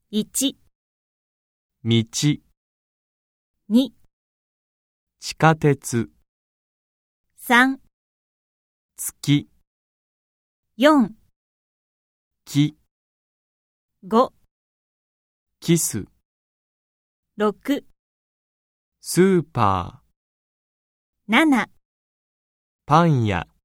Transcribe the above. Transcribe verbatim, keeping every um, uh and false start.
いち、 道、 に、 地下鉄、 さん、 月、 よん、 木、 ご、 キス、 ろく、 スーパー、 なな、 パン屋。